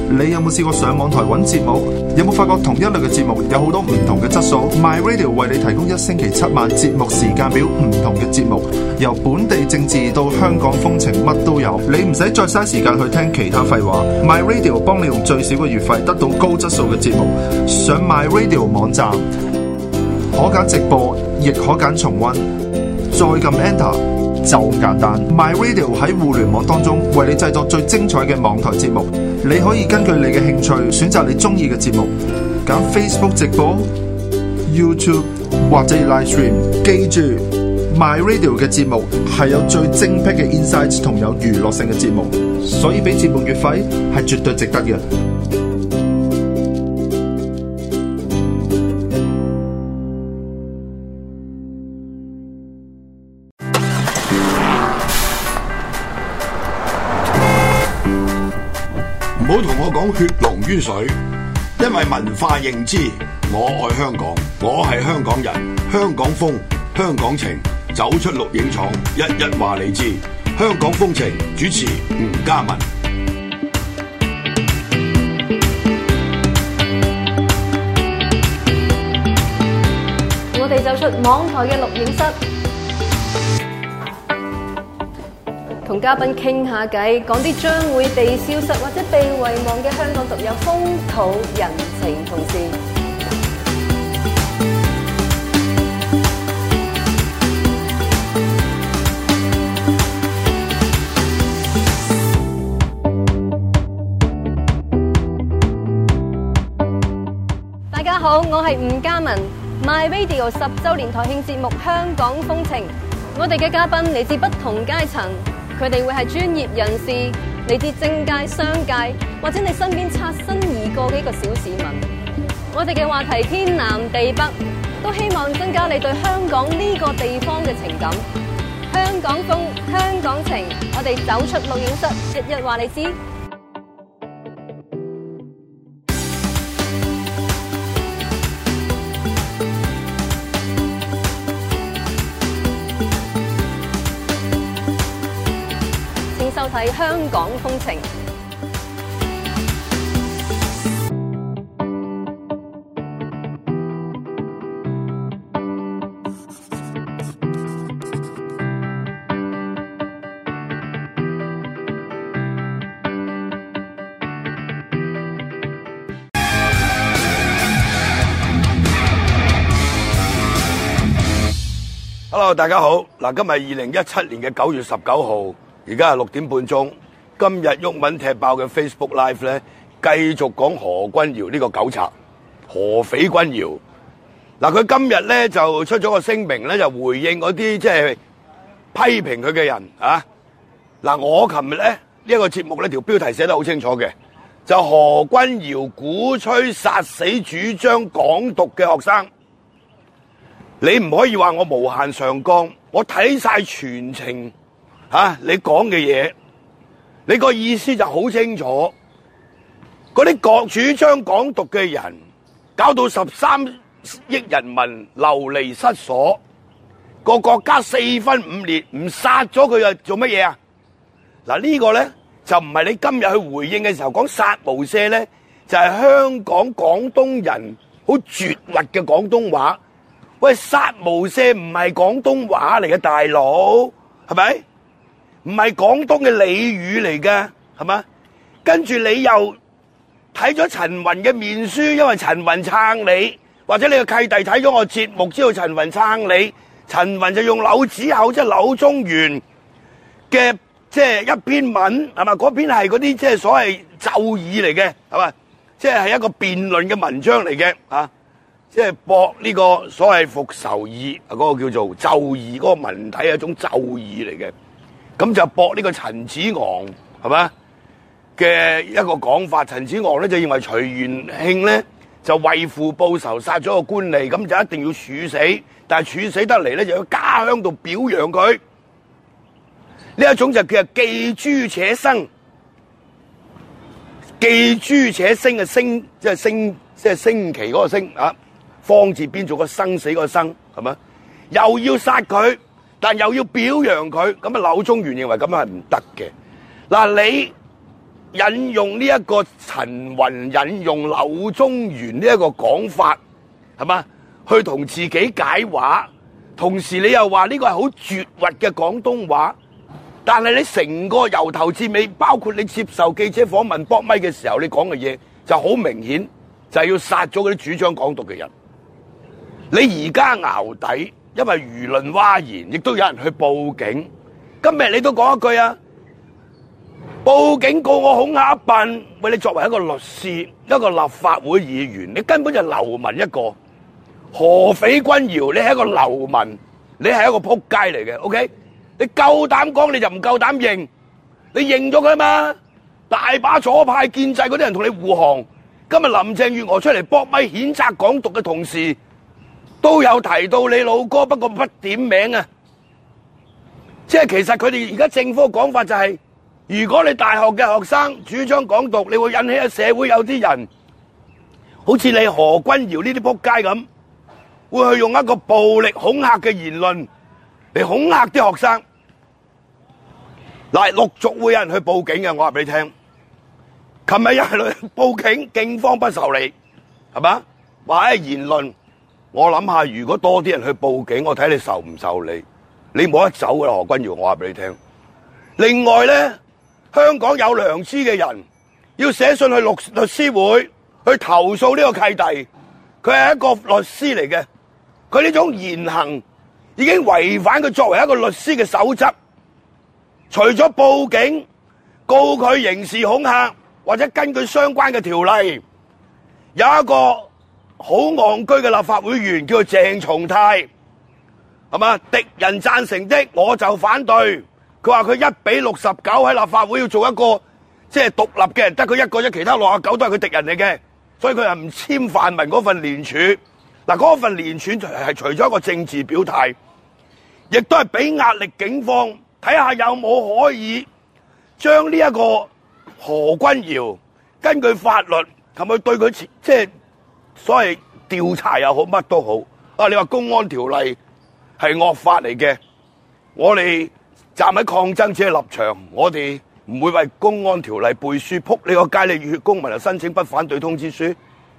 你有冇試過上網台揾節目？有冇發覺同一類嘅節目有好多唔同嘅質素 ？My Radio 為你提供1星期7晚節目時間表，唔同嘅節目，由本地政治到香港風情，乜都有。你唔使再嘥時間去聽其他廢話 ，My Radio 幫你用最少嘅月費得到高質素嘅節目。上 My Radio 網站可揀直播，亦可揀重溫，再撳 Enter。就咁簡單 ，My Radio 喺互聯網當中為你製作最精彩嘅網台節目。你可以根據你嘅興趣選擇你中意嘅節目，揀 Facebook 直播、YouTube 或者 Live Stream。記住 ，My Radio 嘅節目係有最精闢嘅 insights 同有娛樂性嘅節目，所以俾節目月費係絕對值得嘅。 唔好同我講血濃於水，因為文化認知，我愛香港，我係香港人，香港風，香港情，走出錄影廠，一一話你知。香港風情主持吳嘉文。 我哋走出網台嘅錄影室。同嘉賓傾下偈，講啲將會被消失或者被遺忘嘅香港獨有風土人情同事。大家好，我係吳嘉文 ，My Radio 10週年台慶節目《香港風情》。我哋嘅嘉賓嚟自不同階層。佢哋會係專業人士，嚟自政界、商界，或者你身邊擦身而過嘅一個小市民。我哋嘅話題天南地北，都希望增加你對香港呢個地方嘅情感。香港風，香港情，我哋走出錄影室，日日話你知。收睇香港風情。 Hello， 大家好。嗱，今日2017年嘅9月19號。而家係6點半鐘，今日毓民踢爆嘅 Facebook Live 咧，繼續講何君堯呢個狗賊，何匪君堯。嗱，佢今日咧就出咗個聲明咧，就回應嗰啲即係批評佢嘅人啊。嗱，我琴日咧呢一個節目咧條標題寫得好清楚嘅，就何君堯鼓吹殺死主張港獨嘅學生。你唔可以話我無限上綱，我睇晒全程。你講嘅嘢，你個意思就好清楚。嗰啲主張港獨嘅人，搞到13億人民流離失所，個國家4分5裂，唔殺咗佢又做乜嘢啊？嗱，呢個咧就唔係你今日去回應嘅時候講殺無赦咧，就係香港廣東人好絕核嘅廣東話。喂，殺無赦唔係廣東話嚟嘅，大佬，係咪？唔係廣東嘅俚語嚟嘅，係嘛？跟住你又睇咗陳雲嘅面書，因為陳雲撐你，或者你個契弟睇咗我節目，知道陳雲撐你，陳雲就用柳子厚，即係柳宗元嘅即係一篇文，係嘛？嗰篇係嗰啲即係所謂奏議嚟嘅，係嘛？即係一個辯論嘅文章嚟嘅，啊！即係駁呢個所謂復仇議，嗰個叫做奏議，嗰個文體係一種奏議嚟嘅。咁就駁呢個陳子昂係嘛嘅一個講法，陳子昂咧就認為徐元慶咧就為父報仇殺咗個官吏，咁就一定要處死，但係處死得嚟咧就要家鄉度表揚佢。呢一種就叫記誅且生，記誅且生嘅升，即係升，即係升旗嗰個升啊，方字邊做個生死個生，係嘛？又要殺佢。但又要表揚佢，咁啊柳宗元認為咁樣係唔得嘅。嗱，你引用呢一個陳雲引用柳宗元呢一個講法，係嘛？去同自己解話，同時你又話呢個係好絕核嘅廣東話，但係你成個由頭至尾，包括你接受記者訪問搏咪嘅時候，你講嘅嘢就好明顯，就係要殺咗嗰啲主張港獨嘅人。你而家淆底，因為輿論譁然，亦都有人去報警。今日你都講一句啊，報警告我恐嚇一笨。喂，你作為一個律師，一個立法會議員，你根本就流民一個。何匪君堯，你係一個流民，你係一個撲街嚟嘅。OK， 你夠膽講你就唔夠膽認，你認咗佢嘛？大把左派建制嗰啲人同你護航。今日林鄭月娥出嚟搏咪譴責港獨嘅同時，都有提到你老哥，不過不點名啊。即係其實佢哋而家政府嘅講法就係，如果你大學嘅學生主張港獨，你會引起社會有啲人，好似你何君堯呢啲撲街咁，會去用一個暴力恐嚇嘅言論嚟恐嚇啲學生。嗱，陸續會有人去報警嘅，我話俾你聽。琴日有人去報警，警方不受理，係嘛？話喺言論，我諗下，如果多啲人去報警，我睇你受唔受理。你冇得走噶啦，何君堯，我話俾你聽。另外咧，香港有良知嘅人要寫信去律師會去投訴呢個契弟，佢係一個律師嚟嘅，佢呢種言行已經違反佢作為一個律師嘅守則。除咗報警告佢刑事恐嚇，或者根據相關嘅條例，有一個好戇居嘅立法會議員叫做鄭松泰。係嘛？敵人贊成的，我就反對。佢話佢1比69喺立法會要做一個即係獨立嘅人，得佢一個啫，其他69都係佢敵人嚟嘅，所以佢係唔簽泛民嗰份聯署。嗱，嗰份聯署係除咗一個政治表態，亦都係俾壓力警方睇下有冇可以將呢一個何君堯根據法律係咪對佢即係所謂調查又好乜都好啊？你話公安條例係惡法嚟嘅，我哋站喺抗爭者嘅立場，我哋唔會為公安條例背書，撲你個街，你熱血公民就申請不反對通知書，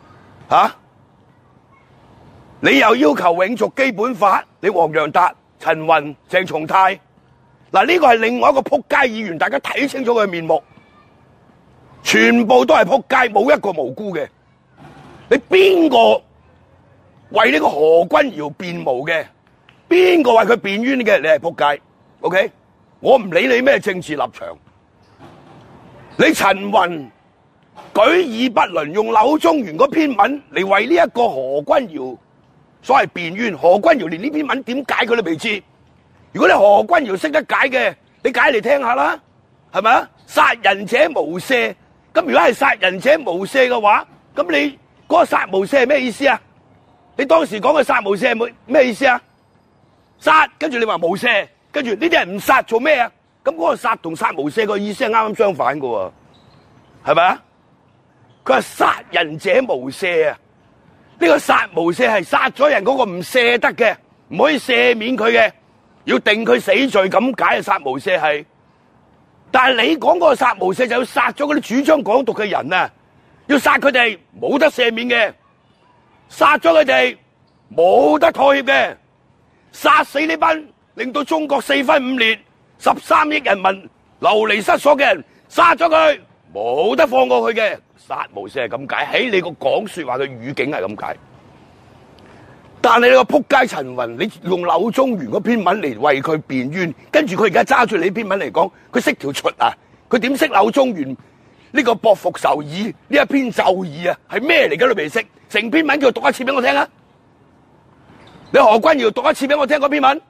你又要求永續基本法，你黃洋達、陳雲、鄭松泰，嗱，呢個係另外一個撲街議員，大家睇清楚佢嘅面目，全部都係撲街，冇一個無辜嘅。你邊個為呢個何君堯辯護嘅？邊個為佢辯冤嘅？你係撲街 ，OK？ 我唔理你咩政治立場。你陳雲舉義不倫，用柳宗元嗰篇文嚟為呢一個何君堯所謂辯冤。何君堯連呢篇文點解佢都未知。如果你何君堯識得解嘅，你解嚟聽下啦，係咪啊？殺人者無赦，咁如果係殺人者無赦嘅話，咁你嗰個殺無赦係咩意思啊？你當時講嘅殺無赦係咩意思啊？殺，跟住你話無赦，跟住呢啲人唔殺做咩啊？咁嗰個殺同殺無赦個意思係啱啱相反㗎喎，係咪啊？佢係殺人者無赦啊！呢個殺無赦係殺咗人嗰個唔赦得嘅，唔可以赦免佢嘅，要定佢死罪咁解啊！殺無赦係，但係你講嗰個殺無赦就要殺咗嗰啲主張港獨嘅人啊！要殺佢哋冇得赦免嘅，殺咗佢哋冇得妥協嘅。殺死呢班令到中國4分5裂、13億人民流離失所嘅人，殺咗佢冇得放過佢嘅。殺無赦係咁解，喺你個講說話嘅語境係咁解。但係你個撲街陳雲，你用柳宗元嗰篇文嚟為佢辯冤，跟住佢而家揸住你篇文嚟講，佢識條出啊？佢點識柳宗元呢個駁復仇議呢一篇奏議啊？係咩嚟嘅都未識，成篇文叫佢讀一次俾我聽啊！你何君堯讀一次俾我聽嗰篇文，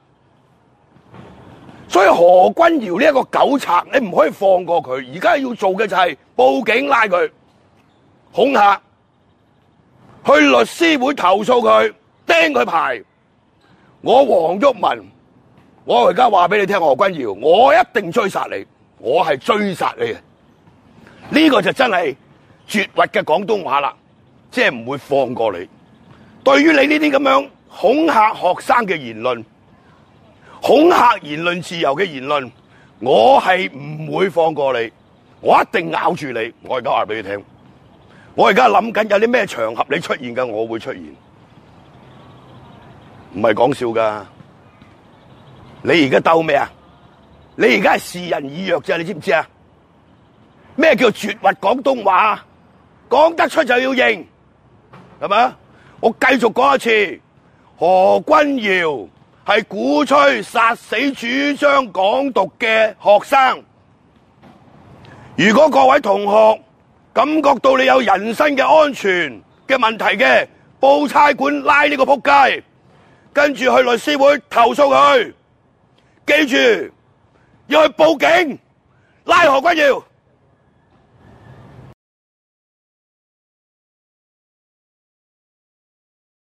所以何君堯呢一個狗賊，你唔可以放過佢。而家要做嘅就係報警拉佢，恐嚇，去律師會投訴佢，釘佢牌。我黃毓民，我而家話俾你聽，何君堯，我一定追殺你，我係追殺你嘅。呢個就真係絕核嘅廣東話啦，即係唔會放過你。對於你呢啲咁樣恐嚇學生嘅言論，恐嚇言論自由嘅言論，我係唔會放過你。 我一定咬住你。我而家話俾你聽，我而家諗緊有啲咩場合你出現嘅，我會出現，唔係講笑噶。你而家鬥咩啊？你而家係示人以弱啫，你知唔知啊？咩叫絕核廣東話？講得出就要認，係咪？我繼續講一次，何君堯係鼓吹殺死主張港獨嘅學生。如果各位同學感覺到你有人身嘅安全嘅問題嘅，報差館拉呢個仆街，跟住去律師會投訴佢。記住要去報警，拉何君堯。